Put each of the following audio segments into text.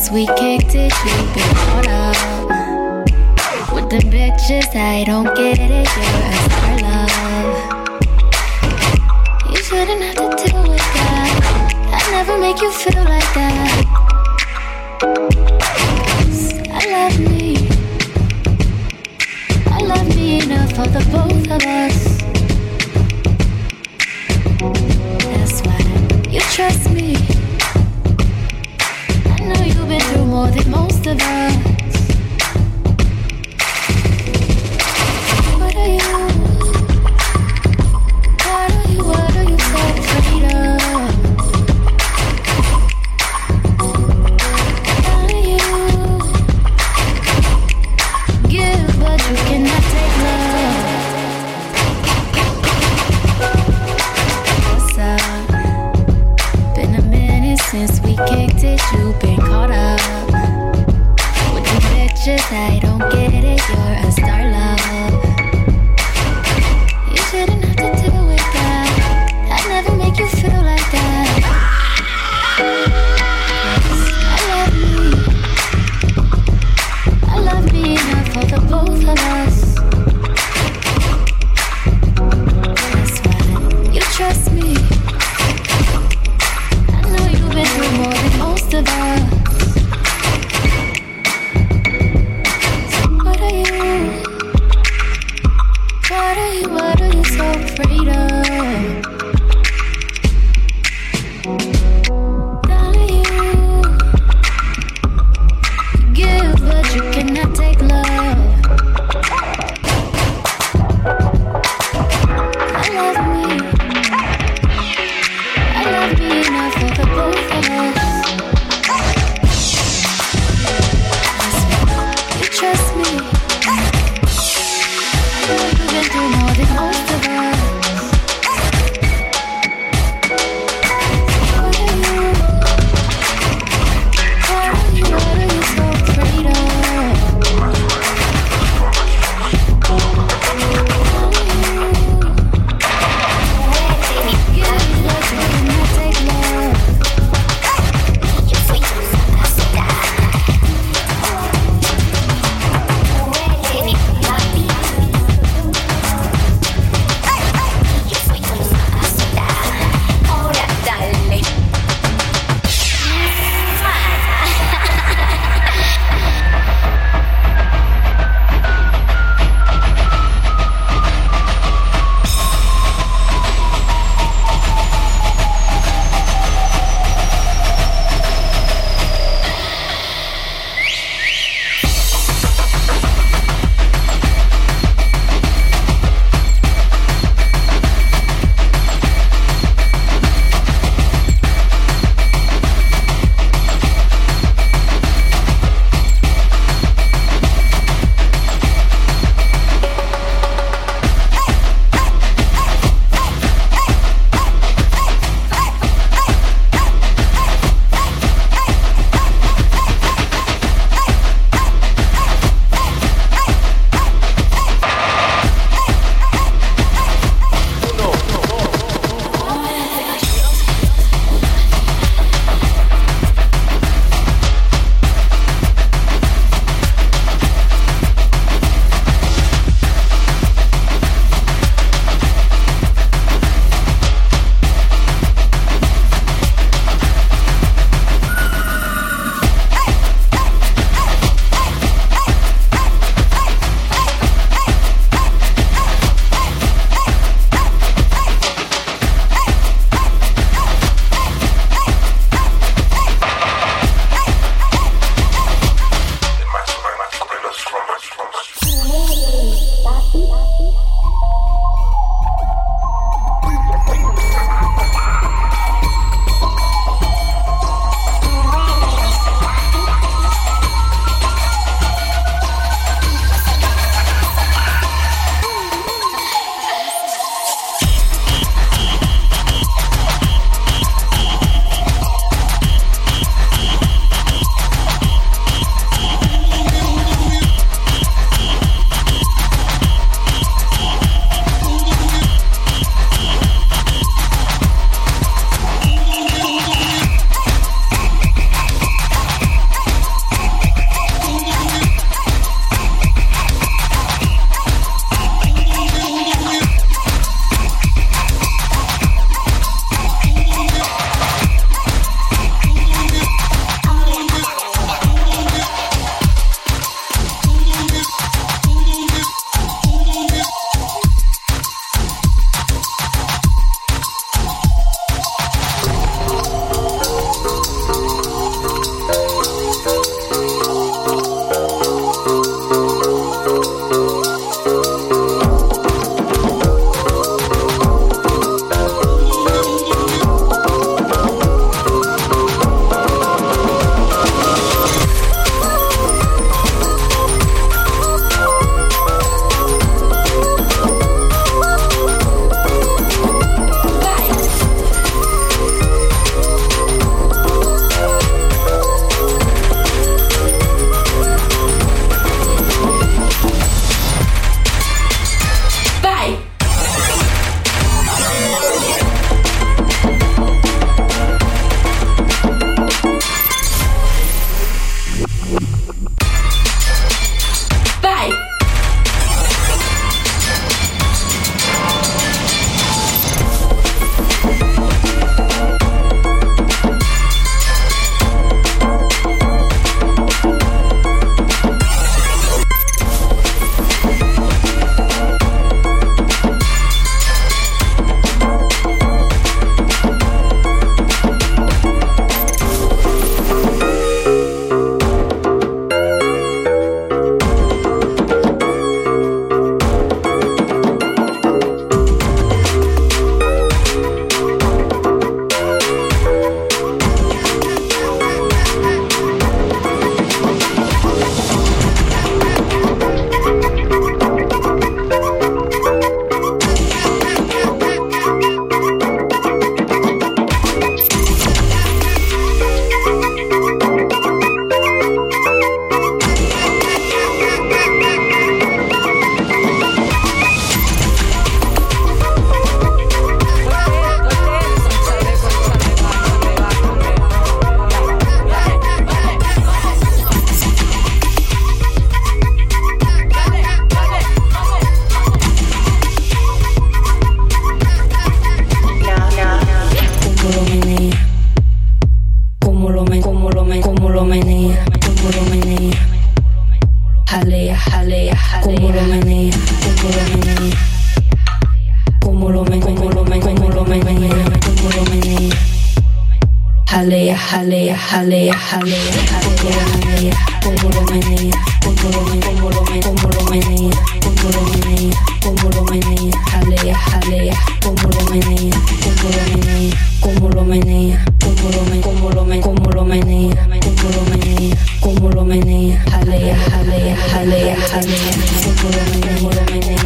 since we kicked it, you've been caught up with the bitches. I don't get it, you're a star love. You shouldn't have to deal with that. I never make you feel like that. I love me enough for the both of us. That's why you trust me. I know you've been through more than most of us. What are you? What are you so afraid of? How do you give but you cannot take love? What's up? Been a minute since we kicked it, you've been caught up with the bitches. I don't get it, you're a star love. You shouldn't have to deal with that. I never make you feel like that. I love me enough for the both of us. That's why you trust me. I know you've been through more than most of us. So what are you? jalea, jalea, jalea, como lo menea, como lo menea, como lo menea, como lo menea, como lo menea, como lo menea, jalea, jalea, jalea, jalea, como lo menea, como lo menea, como lo menea, como lo menea, como lo menea, como lo menea, como lo menea, jalea, jalea, como lo menea, como lo menea, como lo menea, como lo menea, como lo menea, como lo menea, como lo menea, como lo menea, jalea, jalea, jalea, jalea, como lo menea, como lo menea,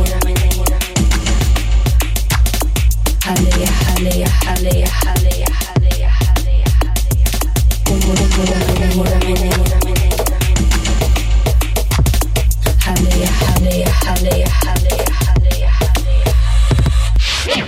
jalea, jalea, jalea, jalea, jalea, jalea, como lo menea, como lo menea, jalea, jalea, jalea, jalea, jalea, jalea.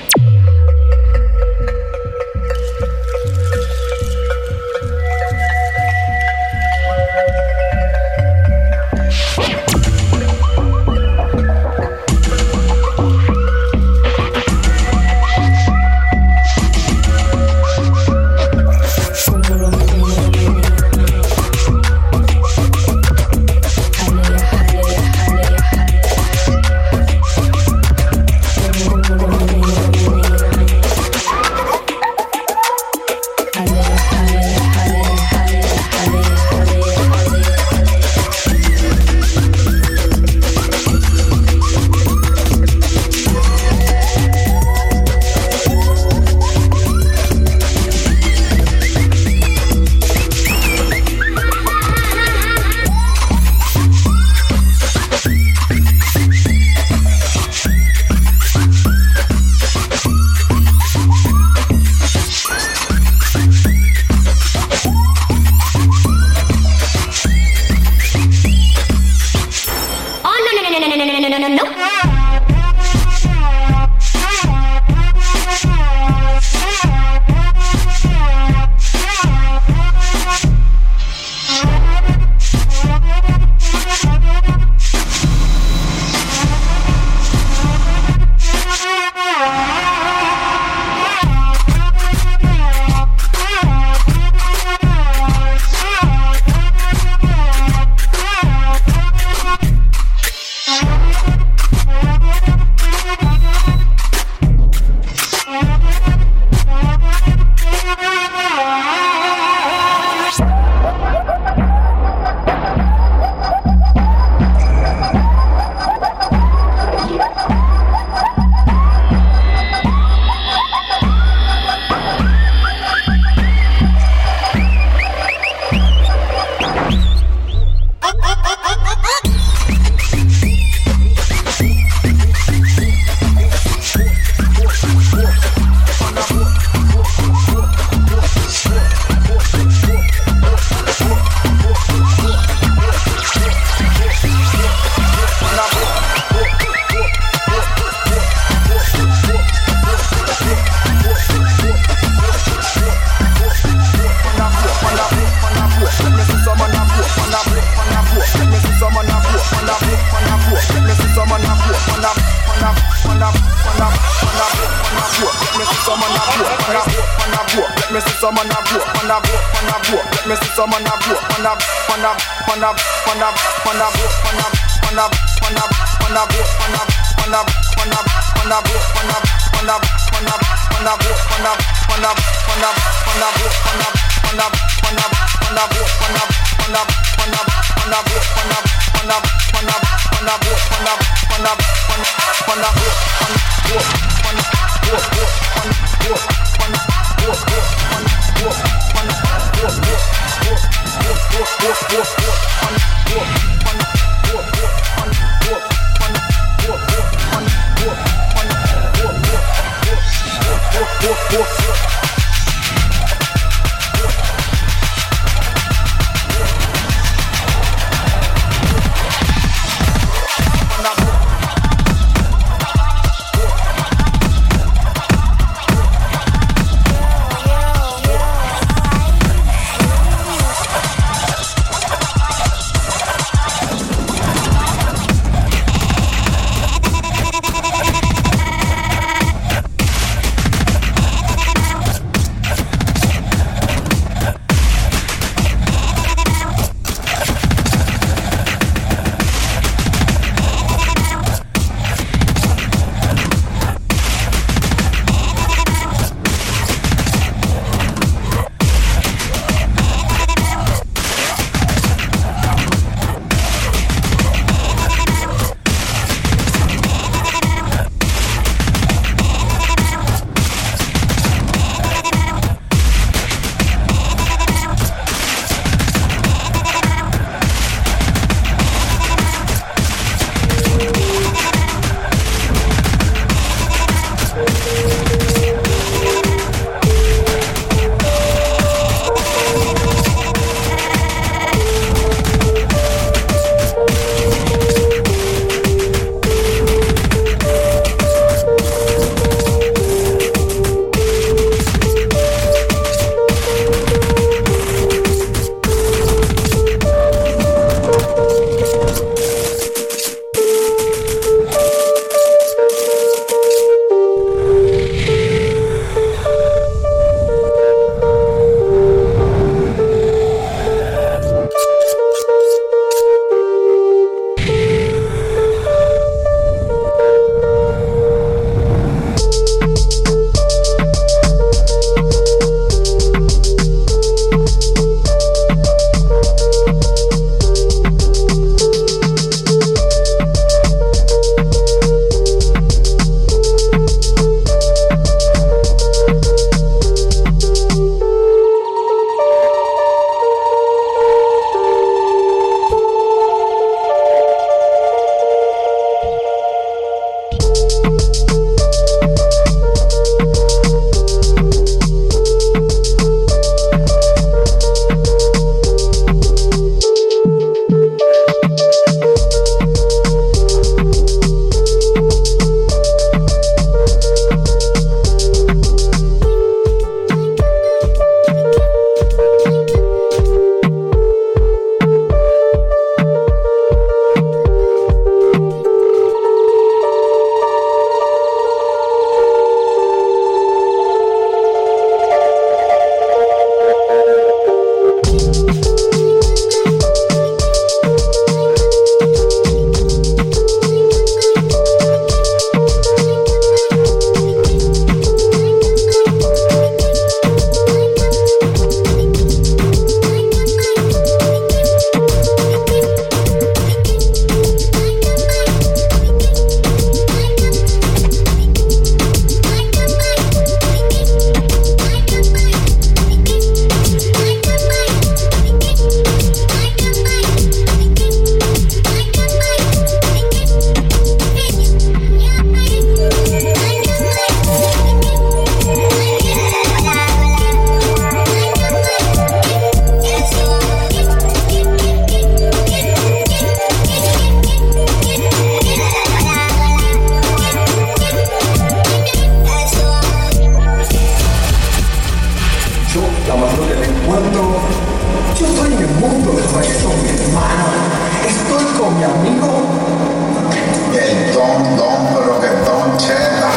con mi amigo. El don, pero que don cheta.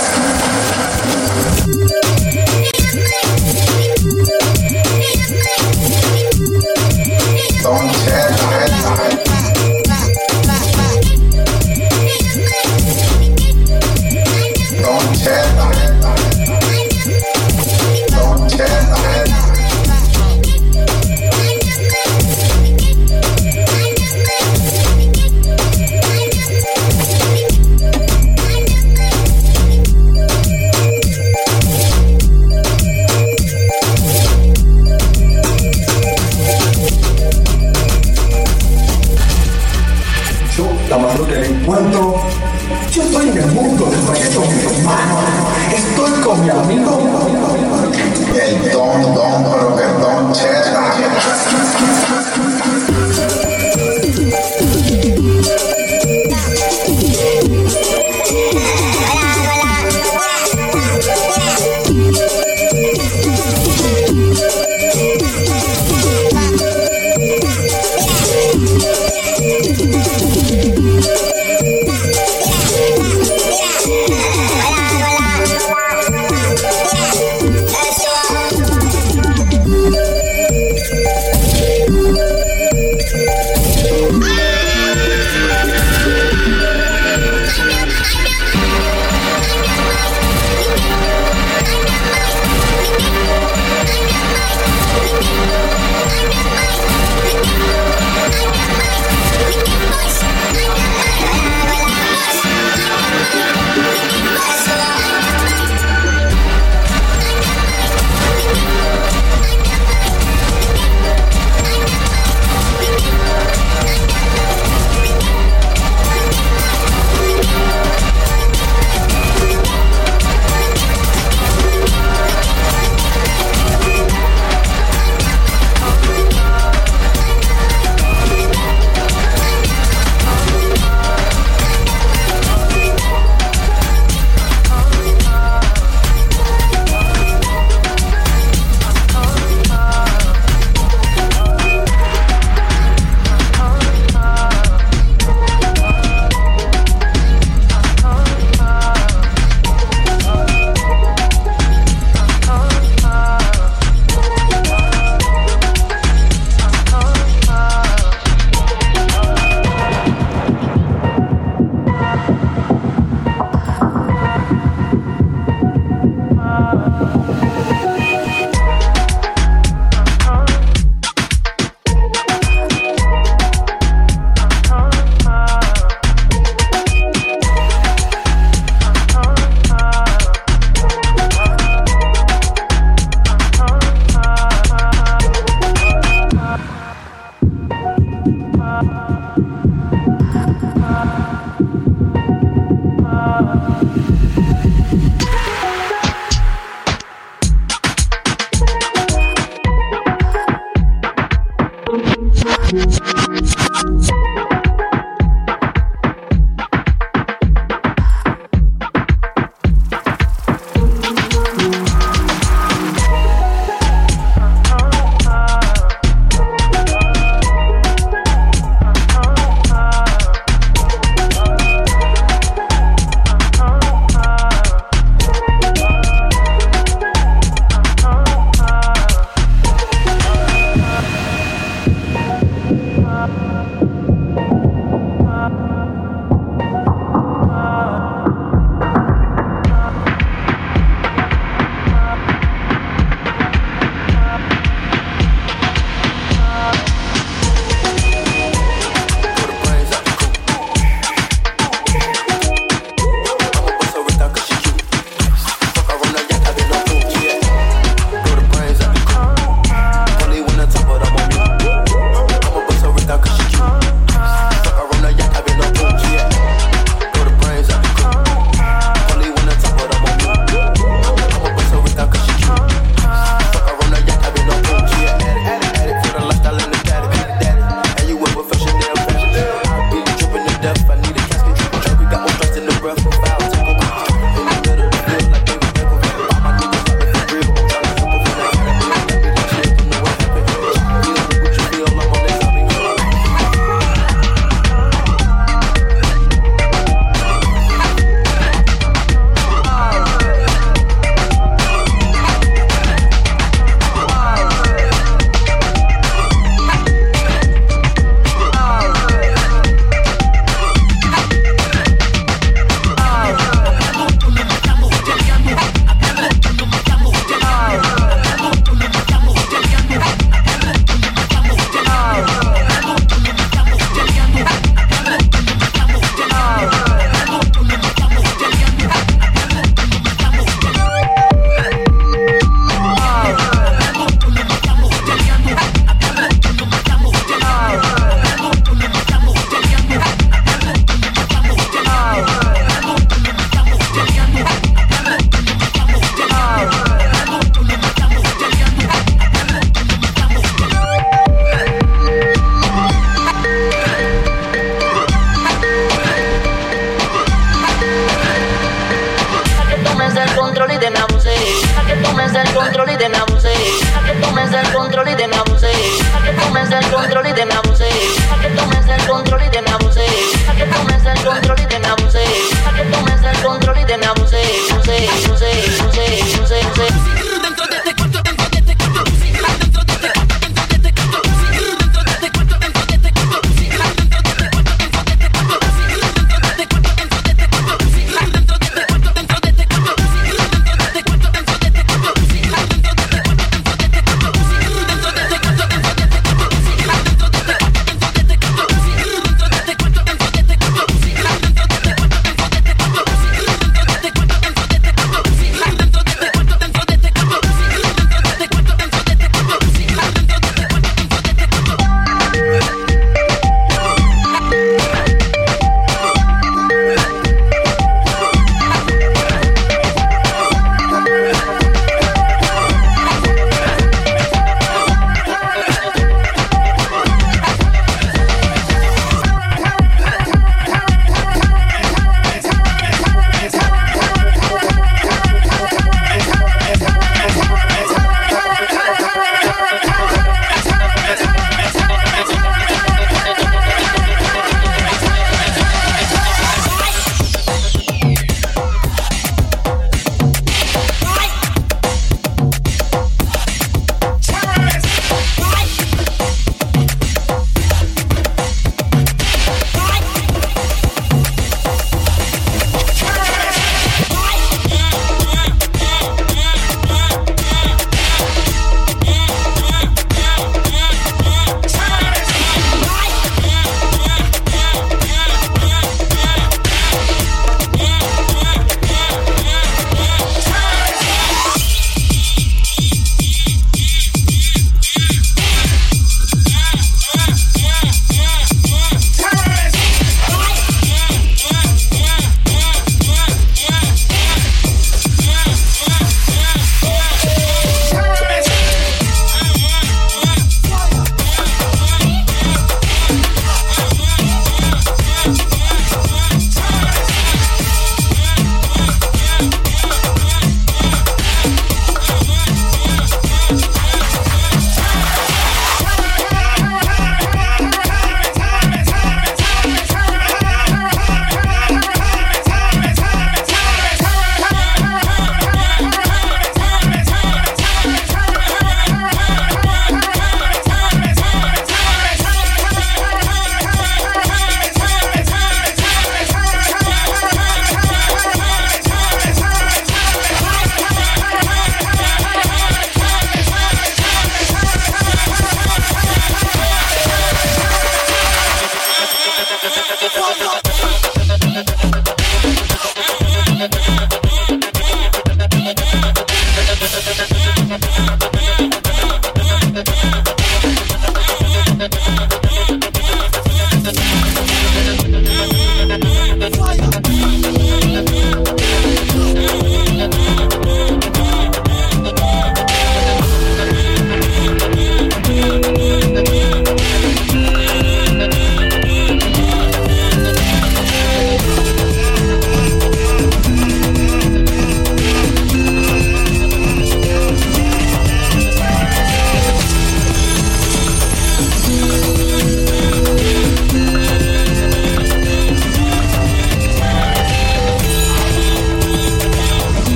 Don cheta. Don cheta. Don cheta. La mayor que le encuentro, yo estoy en el mundo del reggaetón, hermano. Estoy con mi amigo. El don, pero que don cheta.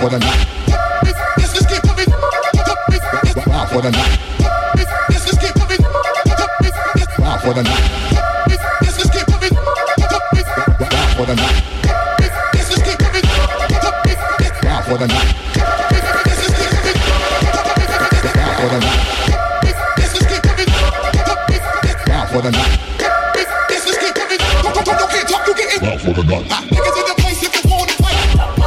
for the night. Let's get moving. Wow for the night. Let's get moving. Wow for the night. Let's get moving. Wow for the night. Let's get moving. Wow for the night. Wow for the night. Wow for the night. Let's get moving. You can't talk, you get it. Wow for the night. Niggas in the place if you wanna fight.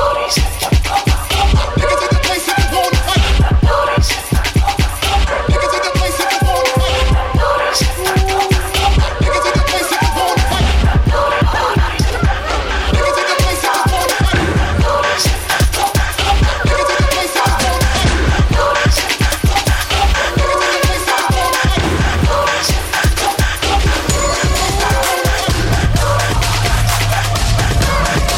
Niggas in the place if you wanna fight. Niggas in the place if you wanna fight. Niggas in the place if you wanna fight. Niggas in the place if you wanna fight. Niggas in the place if you wanna fight. Niggas in the place if you wanna fight.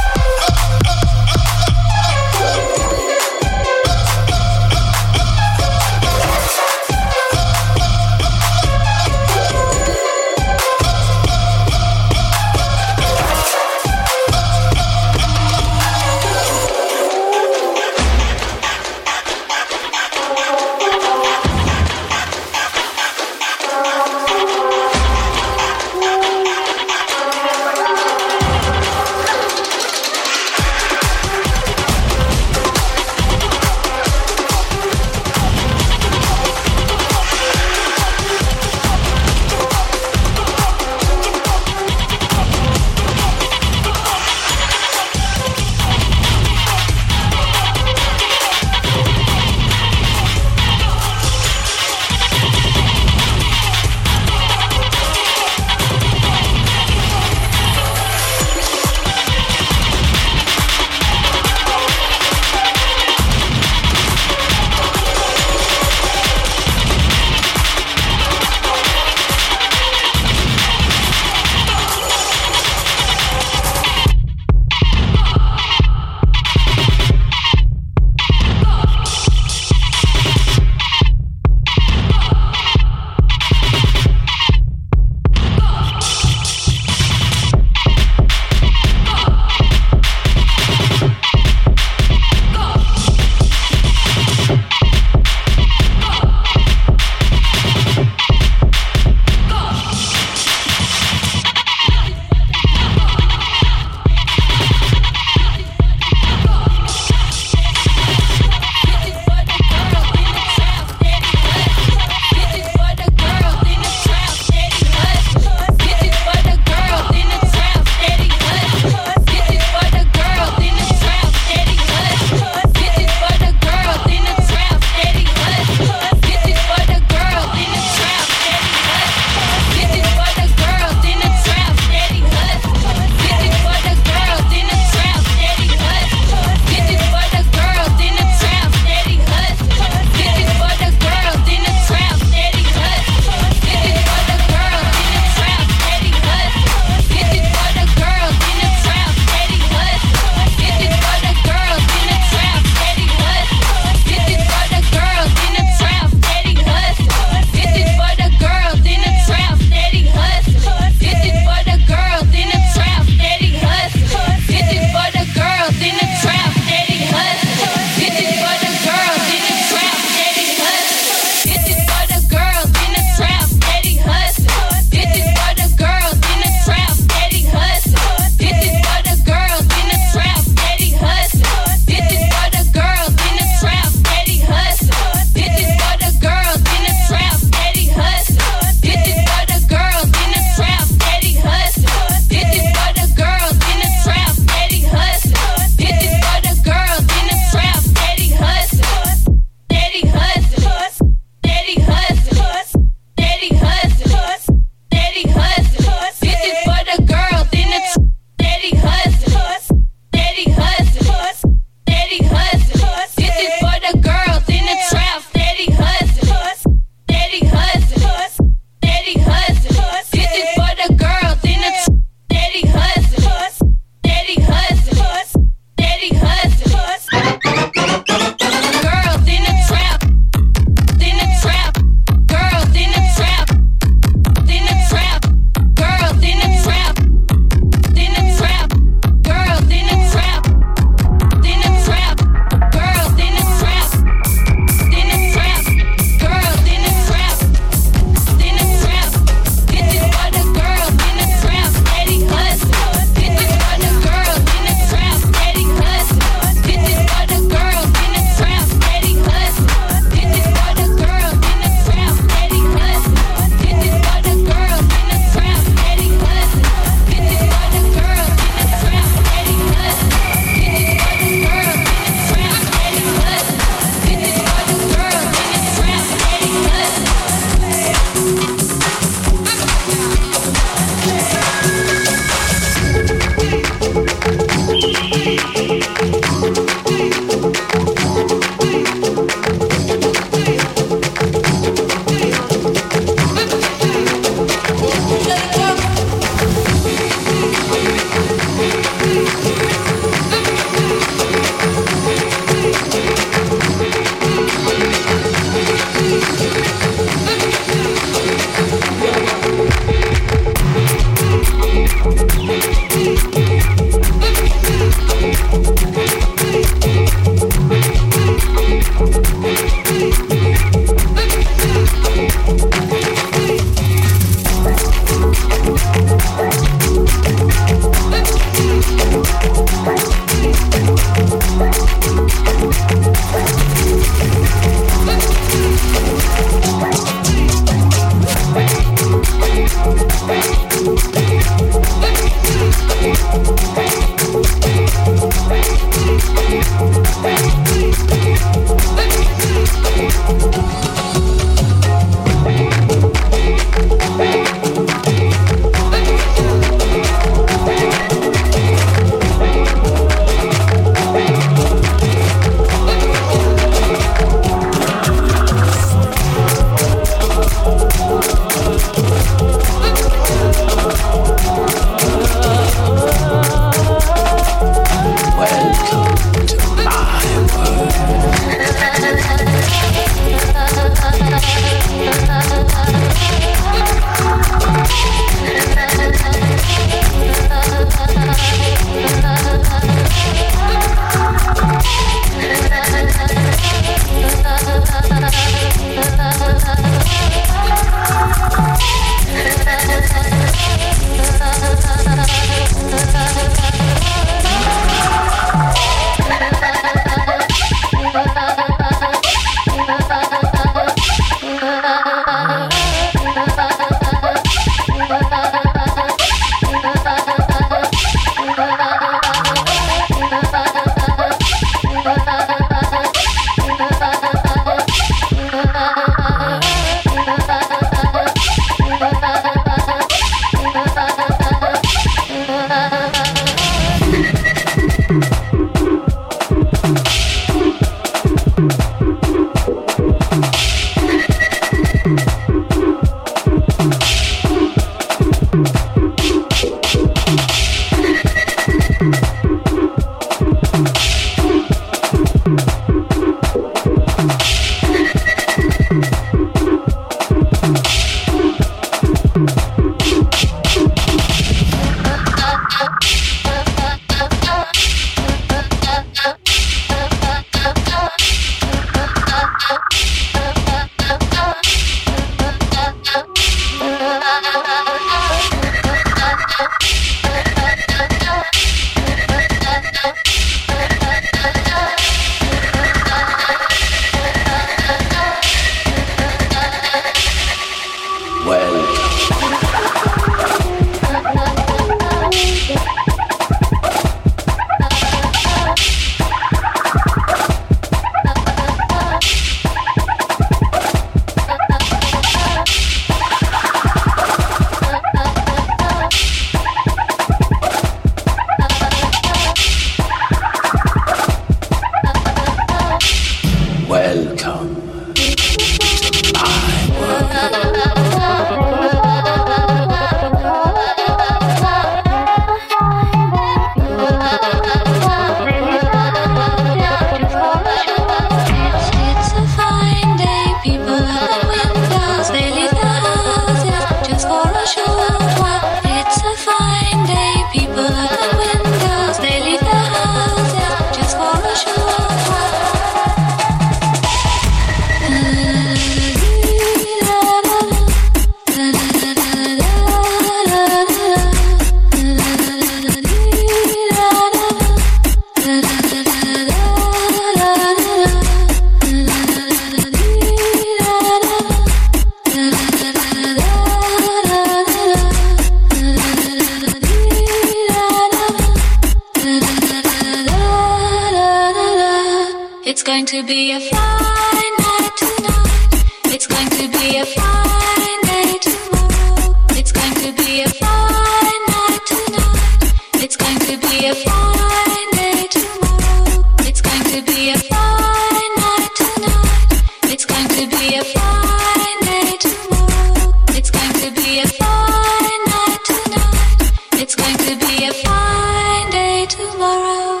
going to be a fine night tonight. It's going to be a fine day tomorrow. It's going to be a fine night tonight. It's going to be a fine day tomorrow. It's going to be a fine night tonight. It's going to be a fine day tomorrow. It's going to be a fine night tonight. It's going to be a fine day tomorrow.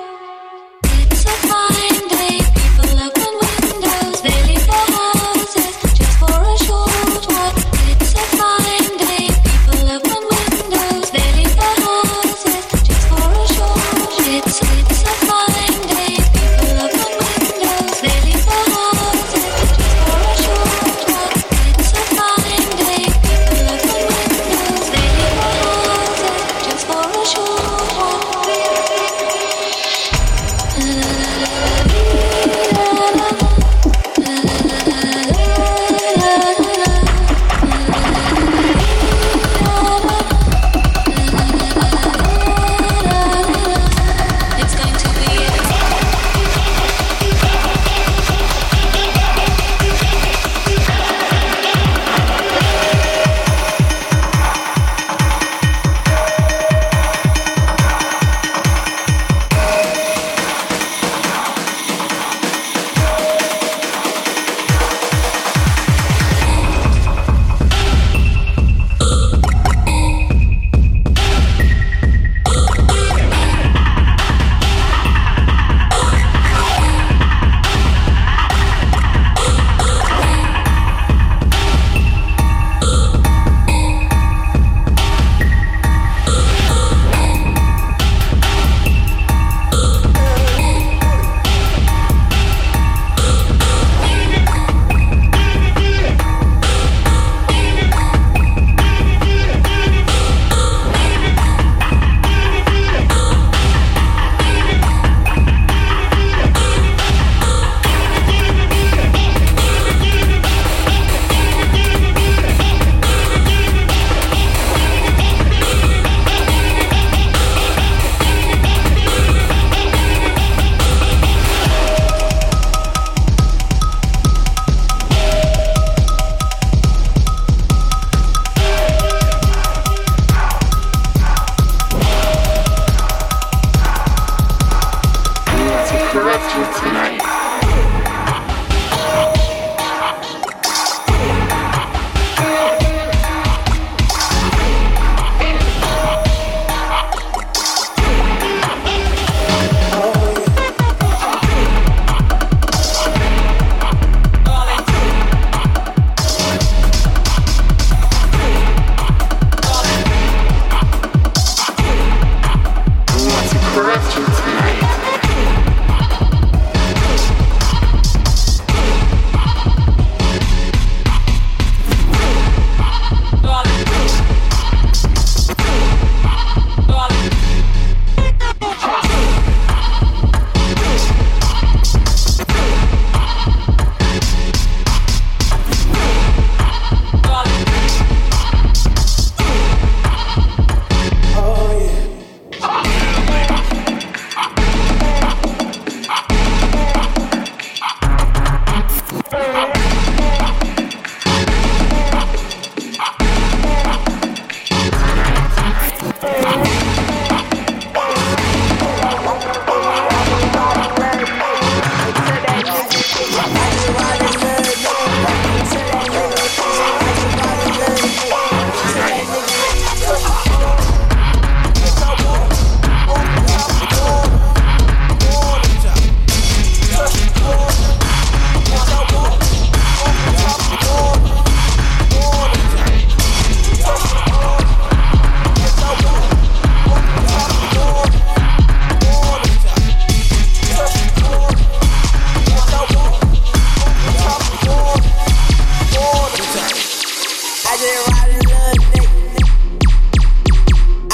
It's a fine day. People open windows. They leave their houses just for a short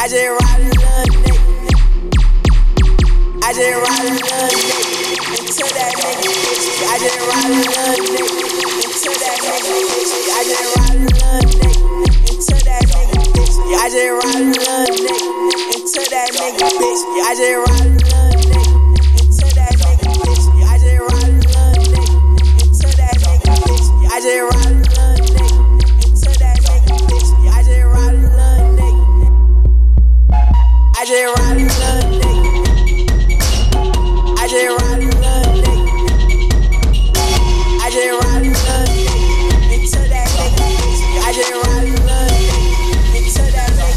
just ride a little nigga. I just ride a little nigga until that nigga bitch. I just ride a little nigga until that nigga bitch. I just ride a little nigga until that nigga bitch. I just ride a little nigga until that nigga bitch. I just ride a little nigga until that nigga bitch. I just ride a little nigga until that nigga bitch. I just ride a little nigga until that nigga bitch. I just ride a little nigga. I just ride a little nigga. I just ride a little nigga. I just ride a little nigga until that nigga bitch. I just ride a little nigga until that nigga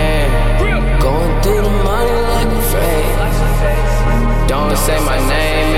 say my name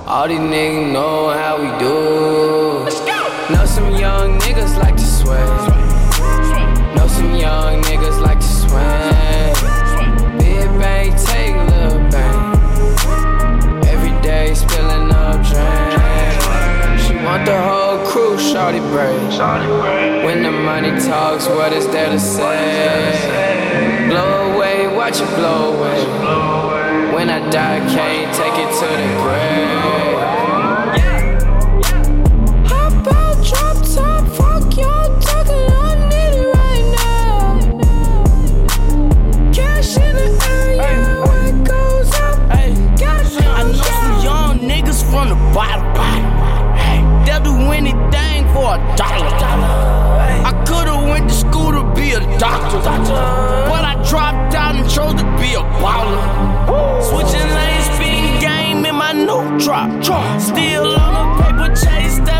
All these niggas know how we do. Know some young niggas like to sweat. Know some young niggas like to swing. Big bang, take a little bang. Every day spilling up drink. She want the whole crew, shawty brave. When the money talks, what is there to say? Blow away, watch it blow away. When I die, can't take it to the grave. Hop out, drop top, fuck y'all talking, I need it right now. Cash in the area, where it goes up. I know some young niggas from the bottom. They'll do anything for $1. I could've went to school to be a doctor, but I dropped out and chose to be a baller. Switching lanes, speeding game in my new drop. Still on the paper chase that